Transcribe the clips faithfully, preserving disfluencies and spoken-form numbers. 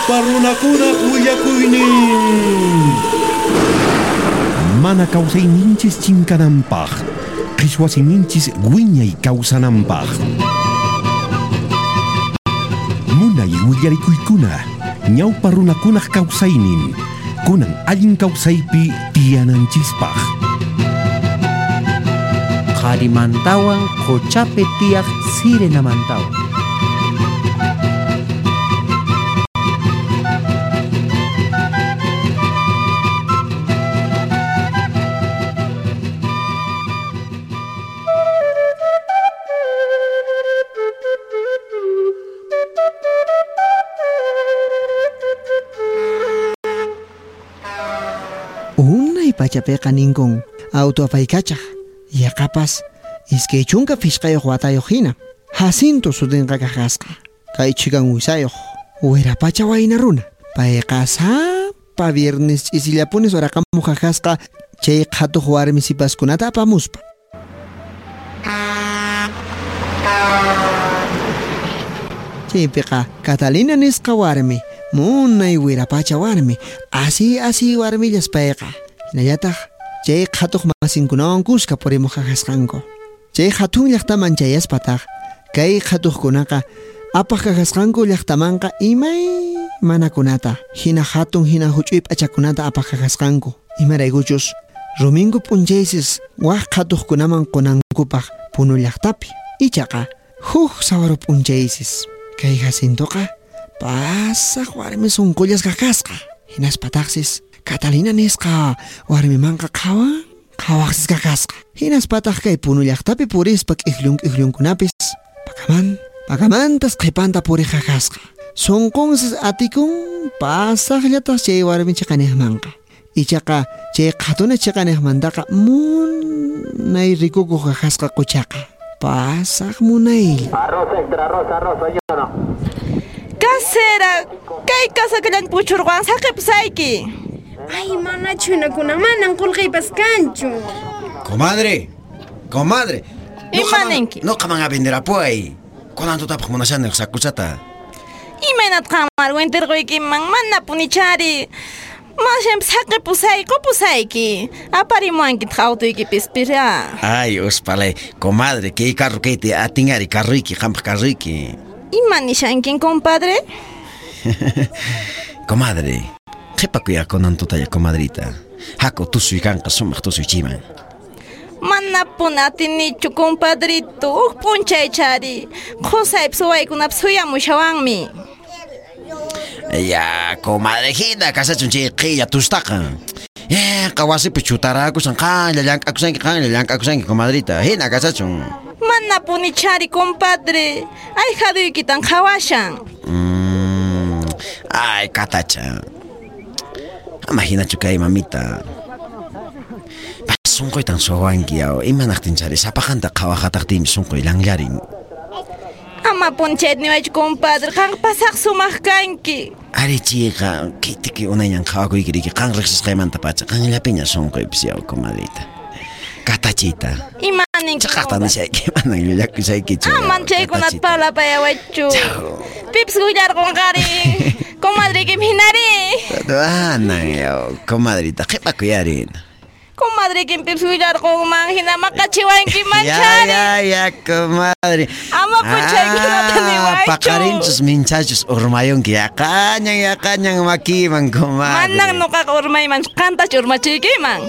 ñawpa runakuna willakuynin. Mana kawsayninchis chinkananpaq, qhichwasiyninchis wiñay kawsananpaq. Munay willarikuykuna, ñawpa runakunaq kawsaynin, kunan allin kawsaypi tiyananchispaq. Qharimantawan quchapi tiyaq sirenamantawan. Unay pachapiqa ninkun auto apaykachaq yaqapas iskay chunka fiskayuq watayuq hina Jacinto sutinqa kaqasqa kay chikan wisayuq wirapacha wayna runa payqa sapa viernes ch'isillapunis waraqamuq kaqasqa chay qhatuq warmi sipaskunata apamuspa. Chaypiqa Catalina nisqa warmi munay wirapacha warmi asi asi warmillas payqa hinallataq chay qhatuq masinkunawan kuska purimuq kaqasqanku. Chay hatun llaqtaman chayaspataq kay qhatuqkunaqa apaq kaqasqanku llaqtamanqa imay manakunata hina hatun hina huch'uy p'achakunata apaq kaqasqanku imaraykuchus rumingu p'unchaysis waq qhatuqkunaman qunankupaq punu llaqtapi ichaqa huk sawaru p'unchaysis kay Jacintoqa pasaq warmi sunqullas kaqasqa hinaspataqsis Catalina nisqa warmimanqa qhawan qhawaqsis kaqasqa hinaspataq kay punu llaqtapi purispa q'iklun q'iklunkunapis pakaman pakamantas qhipanta puriq kaqasqa sunqunsis atikun pasaqllatas chay warmi chiqaniqmanqa ichaqa chay qhatuna chiqaniqmantaqa munay rikukuq kaqasqa quchaqa pasaq munay arroz extra arroz arroz ayuno. Casera, kay kasaklan puchurwan saqipsayki. Ay, mana chunakuna manan qulqaypas kanchu. Comadre, comadre. Imanenki. No qaman a vender apuay. Kunan tutapaq munashanin sakusata. Imanat qamar winterquykiman mana punichari. Mashem saqipusay qupusayki. Aparimuankit qawtuykipis pira. Ay, uspalay, comadre, kay carro kay te atingari carruyki, qampaq carruyki. Imanishankin, compadre? Comadre, qhipakuya kunan tutaya comadrita. Hako tusuy kanqa sumaq tusuy chiman. Mana punatinichu, compadrito. Uq punchay chari. Qusaypis waykunapis suyamushawanmi. Ya, comadre, hina kasachun chay qilla tustaqa. Eh, qawasipi chutarakusan qanlla llank'akusanki qanlla llank'akusanki comadrita. Hina kasachun. Mana punichari, compadre. Ay, haduykitan qhawashan. Mm, ay, katacha. Imaginachu kay mamita. Sunqoy tan suawanki yaw. Imanaqtin chari sapaqanta qhawaqataqtimi sunqoy langllarin. Ama punchet niwaychu, compadre. Qan pasaq sumaq kanki. Ari chiqa, kitiki unayñan qhawakuykiriki qan riqsisqaymanta pacha qanllapiña sunqoypis yaw, comadrita. Katachita. Imaninki. Chaqaqta nishayki, manan llullakusaykichu. Aman chaykunat palapayawaychu. Pips gullarqunqari. Comadrikim hinari. Anan yaw, comadrita, qhipakuyarin. Comadrikim pips gullarqunman hina maqachiwanki manchari. Ya, ya, ya, comadre. Ama puchaykunata niwaychu. Paqarinchus minchachus urmayunki yaqañan yaqañan makiman, comadre. Manan nuqaqa urmayman qantachu urmachiykiman.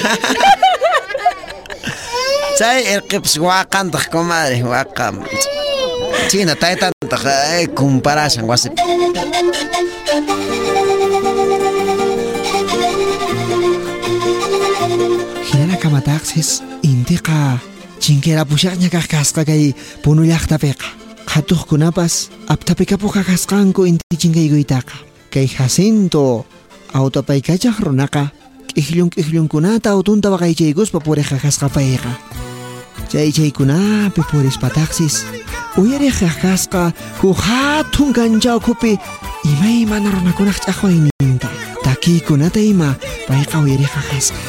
Chay irqips waqantaq, comadre, waqam. China taytantaq ay comparasan wasip. Hinala kamataqsis intiqa chinkera pushaqña kaqkasqa kay punu llaqtapiqa qhatuqkunapas aptapicapuq kaqasqanku inti chinkaykuytaqa kay Jacinto autopaykachaq runaqa q'iklun q'iklunkunata autunta waqaychaykuspa puriq kaqasqa payqa chay chaykunapi purispataqsis uyariq kaqkasqa huk hatun kanchawkupi imaymana runakunaq ch'aqwayninta takiykunata ima payqa uyariq kaqasqa.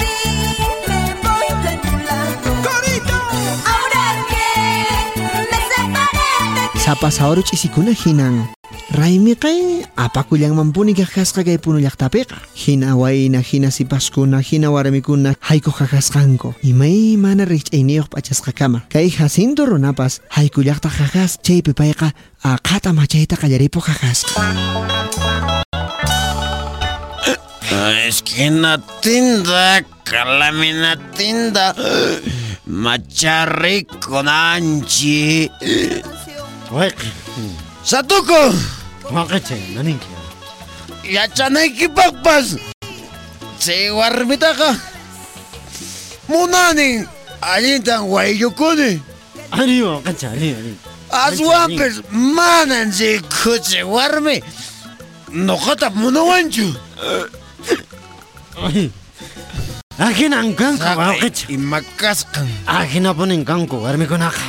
Ahora que me Hapasawruch isikuna hinan Raimi kay apakulyang mampuni kakasqa kay puno llaqtapiqa hina wayna hina sipaskuna hina warmikuna hayku kakasqanku imay mana riqch'ayniyuq p'achasqa kama kay Jacinto runapas hayku llaqta kakas chaypi payqa aqhata machayta qallaripuq kakasqa. Esquina tinda, calamina tinda, macharrico nanchi. Satuko! Waqache, naninki. Yachanayki pakpas. Chay warmitaqa. Munanin, allintan waylukuni. Ali waqache, ali, ali. Aswanpis manan chay kuchi warmi. Noqata munawanchu. Ahinan kanku waqache. Imakasqan. Ahinapunin kanku warmikunaqa.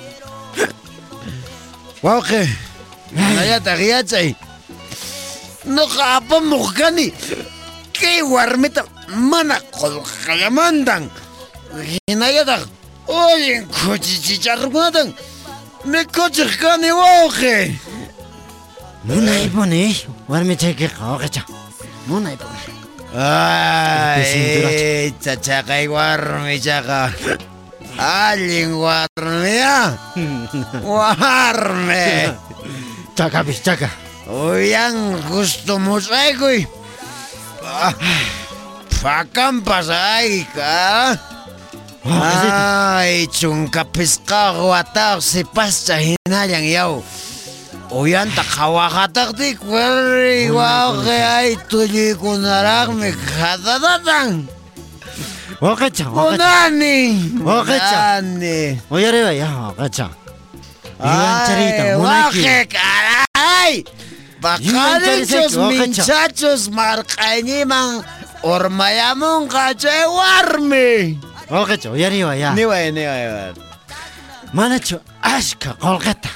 Wauke, nayata giyachay. Noqa apamuq kani. Kay warmita mana qolqallamantan. Hinallataq ullin kuchichicharrukunatan mikuchiq kani wauke. Munaypuni warmichaykiqa waqacha. Munaypuni. Ay, chachaqay warmichaqa. Allin warmiya. Warme. Chaka bis chaka. Uyan gusto musaykuy. Pakampas ay ka. Ay, chungkapis ka wataq si pascha hinallang yaw. Uyan takawahatak di kwari wauke ay tuloy ko narang kadadatan. Waqacha, waqacha. Munani. Waqacha. Munani. Oyare ba ya waqacha. Iwan charita, munaki. Waqe caray. Bakalichos minchachos marqayniman urmayamun kachay warmi. Waqacha, oyare ba ya. Niway, niway. Manachu ashka qolqata.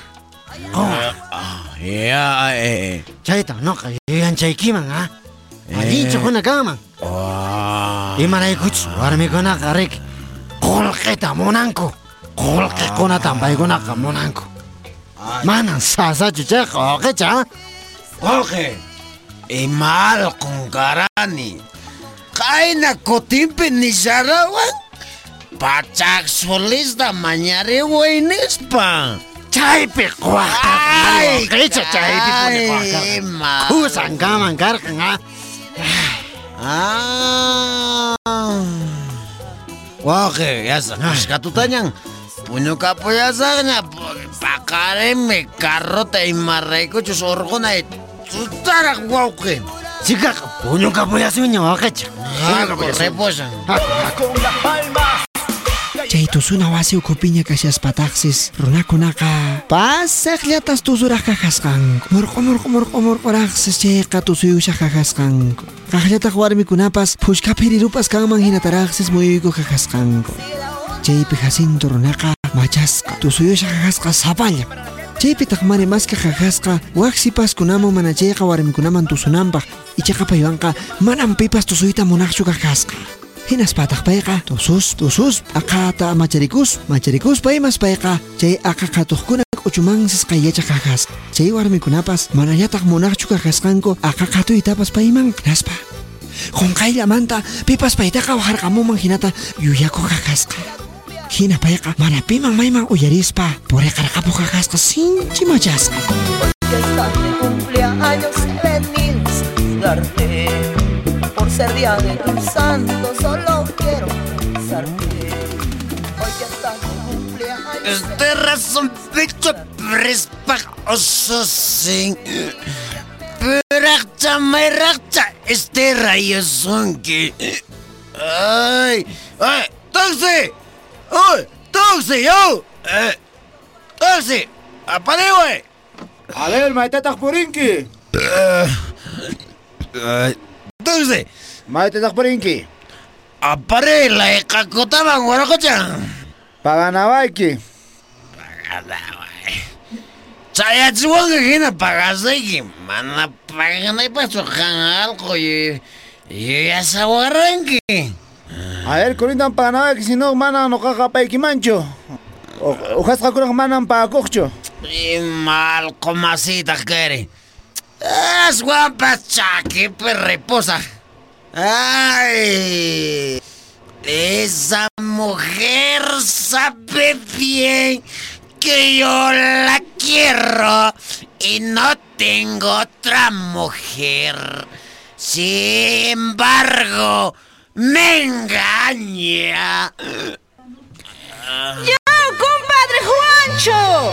Ya, eh. Chayta noqa iwan chaykiman ha. Allinchu kuna kaman. Imaraykuchus warmikunaqa rik qolqita munanku. Qolqikunatan paykunaqa munanku. Manan sasachu chayqa waqacha. Wauke, imalqun karani. Qayna kutimpi nisharawan pachak solista mañari waynispa. Chaypi qwaqta. Ay, waqacha chaypi puni qwaqta. ma. Kusan kaman karqan ha. Ah. Wauke, yasa kashkatutañan. Puñu kapullasaña pakaremi carrota imarraykuchus urqunay tutaraq wauke. Chikaqa puñu kapuyasuña waqacha. Reposan. Chay tusuna wasi ukupiña kashaspataqsis runakunaqa pasaqllatas tusuraq kaqasqanku murqu murqu murqu murquraqsis chayqa tusuyushaq kaqasqanku qaqllataq warmikunapas phushkapi rirupas kanman hinataraqsis muyuyku kaqasqanku chaypi Jacinto runaqa machasqa tusuyushaq kaqasqa sapallam chaypitaq mani maska kaqasqa waqsipaskunaman mana chayqa warmikunaman tusunanpaq ichaqa paywanqa manan pipas tusuyta munaqchu kaqasqa Hinaspataq payqa tusus tusus aqata macharikus macharikus paymas payqa chay aqa qhatuqkuna k'uchumansis qaylachaq kaqasqa chay warmikunapas manallataq munaqchu kaqasqanku aqa qhatuytapas payman hinaspa qunqayllamanta pipas paytaqa waqarqamunman hinata yuyakuq kaqasqa hina payqa mana piman mayman uyarispa puriqarqapuq kaqasqa sinchi machasqa. Por ser día de tu santo, solo quiero besarte. Hoy que estás de cumpleaños. Este razón pecho prespa ososin. Perakcha merakcha este rayo sonki. Ay, ay, taxi. Ay, taxi yo. Eh, taxi. Apare wey. Alel maitetak purinki. Ay. Taxi. Maitetak purinki. Apare la ekakotaban warakocha. Paganawayki. Paganaway. Chayachiwan hina pagasayki. Mana paganay pa sukan algo y y asawaranki. A ver, kurintan paganawayki si no mana no kakapayki mancho. Ujas kakurang manan pa akokcho. Y mal comasita quiere. Es guapa chaki reposa. Ay, esa mujer sabe bien que yo la quiero y no tengo otra mujer. Sin embargo, me engaña. ¡Ya, compadre Juancho!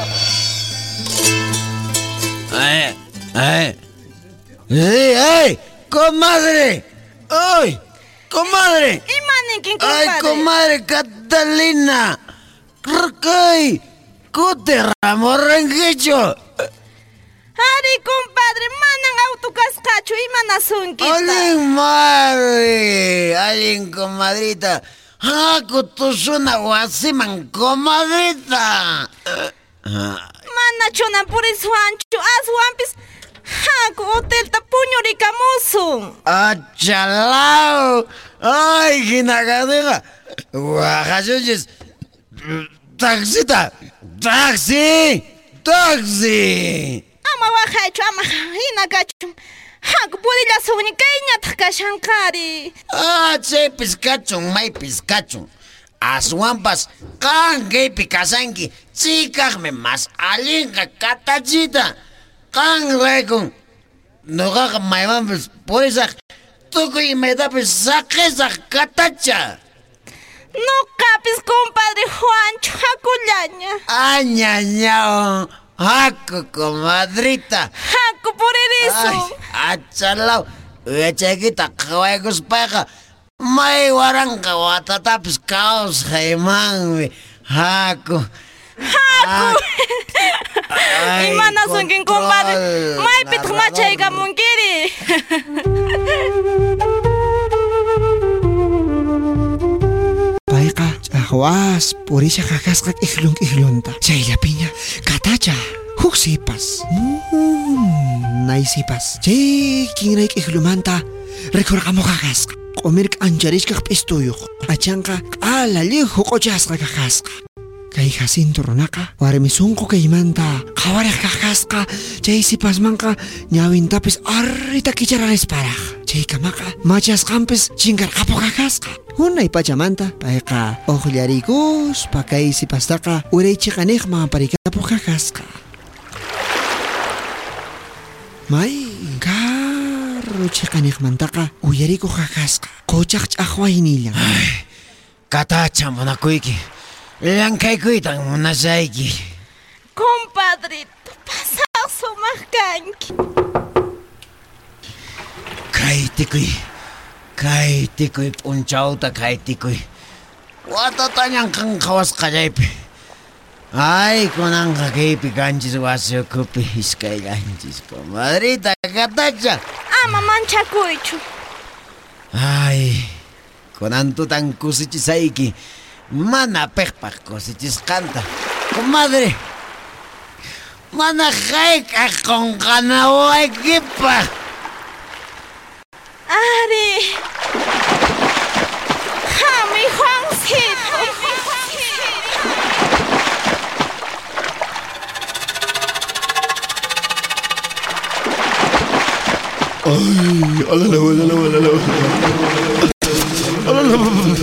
¡Ay! ¡Ay! ¡Ay! ¡Ay! ¡Comadre! ¡Ay! ¡Comadre! ¡Imanikin, compadre! ¡Ay, comadre Catalina! ¡Ay! ¡Cute ramorrenguecho! ¡Ari, compadre! ¡Manan autocascacho! ¡Imana sunquita! ¡Alin, madre! ¡Alin, comadrita! ¡Haku tu suna wasiman, comadrita! Mana chona puris Juancho, aswampis haku hotelta puñurikamusun. ¡Achalao! ¡Ay, ginagadega! ¡Guajayuyes! ¡Taxita! ¡Taxi! ¡Taxi! Ama wajacho, ama hinakachum. Haku purilla suni kaiñata kashankari. ¡Ah, che, piscachun, may piscachun! Aswampas, kan gaypi kasanki, chikaqmi mas allinqa katachita. Kan raykun, nuqaqa maymanpis purisaq, tukuy imaytapis saqisaq katacha. Nuqapis compadre Juancho hakullaña. Añañao, haku comadrita. Haku puririsun. Ay, achalao, uyachaykita qhawaykuspayqa, may waranqa watatapis kawsaymanmi, haku. Haku! Imana sunkin compadre, maypit machaykamunkiri. Payqa ch'aqwas purisha qaqasqa ihlun ihlunta. Chayllapiña katacha huk sipas. Mm, nay sipas. Chay kinray ihlumanta rikurqamuq qaqasqa. Q'umir k'ancharishkaq p'istuyuq. Achanqa q'alali huq'uchasqa qaqasqa. Kay Jacinto runaqa warmi sunqu kaymanta qhawariq qaqasqa. Chay sipasmanqa ñawintapis arrita kicharanisparaq. Chay kamaqa machasqanpis chinkarqapuq qaqasqa. Unay pachamanta payqa uqllarikuspa kay sipastaqa uraychiqaniqman parikapuq qaqasqa. May karru chiqaniqmantaqa uyarikuq qaqasqa. Quchaq ch'aqwaynillan. Ay, katacha munakuyki. Llank'aykuytan munashayki. Compadrito, pasaq sumaq kanki. Kay tikuy, kay tikuy p'unchawta kay tikuy. Watatañan kan qhawasqallaypi. Ay, kunanqa kaypi kanchis wasi ukupi hisk'ayllanchis, comadrita katacha. Ama manchakuychu. Ay, kunan tutan kusichisayki. Mana piqpaq kusichisqanta. Comadre, mana hayk'aq qunqanawaykipaq. Ari, hami Juancito. Ay, alala, alala, alala, alala,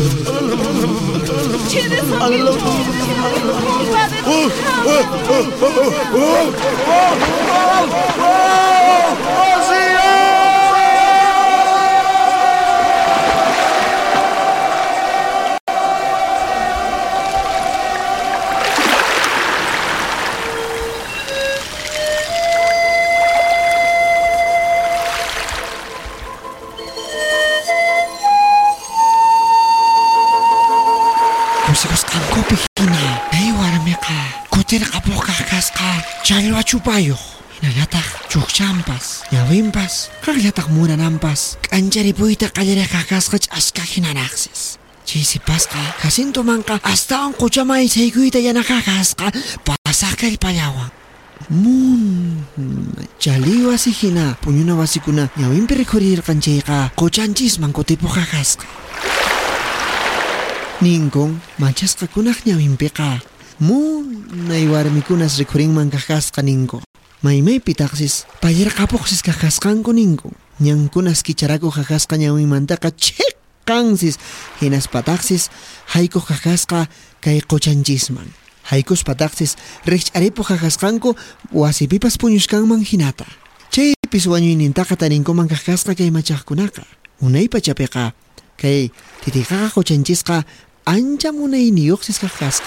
Challwa chupayuq, hinallataq chukchanpas, ñawinpas, qaqllataq murananpas, k'ancharipuyta qallariq qaqasqa ch'aska hinanaqsis. Chay sipasqa Jacinto manqa astawan quchamay saykuyta yana qaqasqa pasaq kallpallawan. Mun, chaliwa si hina puñuna wasikuna ñawinpi rikhurirqanchayqa quchanchisman kutipuq qaqasqa. Ninkun manchasqakunaq ñawinpiqa Munay warmikunas rikurinman kajasqa ninku. Maymaypi taqsis pallirqapuqsis kajasqanku ninku. Ñankunas kicharaku kajasqa ñawinmantaqa chiqqansis hinaspataqsis hayku kajasqa kay quchanchisman. Haykuspataqsis riqch'aripu kajasqanku wasipipas puñushkanman hinata. Chaypis wañuynintaqa tarinkuman kajasqa kay machaqkunaqa. Unay pachapiqa kay titiqaqa quchanchisqa ancha munayniyuqsis kajasqa.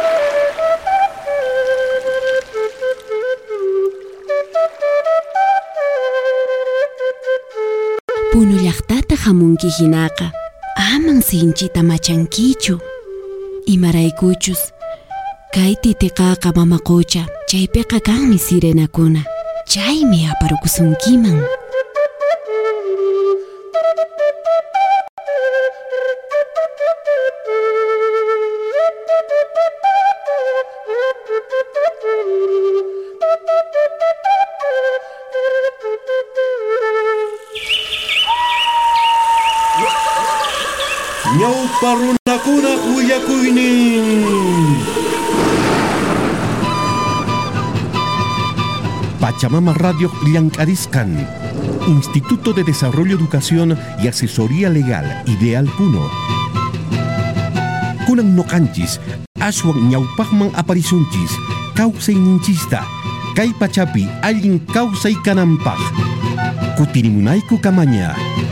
Puno llaqtata hamunki hinaqa aman sinchita machankichu. Imaraykuchus kay titiqaqa mama qucha chaypiqa kanmi sirenakuna. Chaymi aparukusunkiman. Ñawpa runakuna willakuynin. Pachamama Radio Llancariscan, Instituto de Desarrollo, Educación y Asesoría Legal, Ideal Puno. Kunan noqanchis, aswan ñawpaqman aparisunchis, kawsay ninchista, kay pachapi allin kawsay kananpaq. Kutirimunayku kamaña.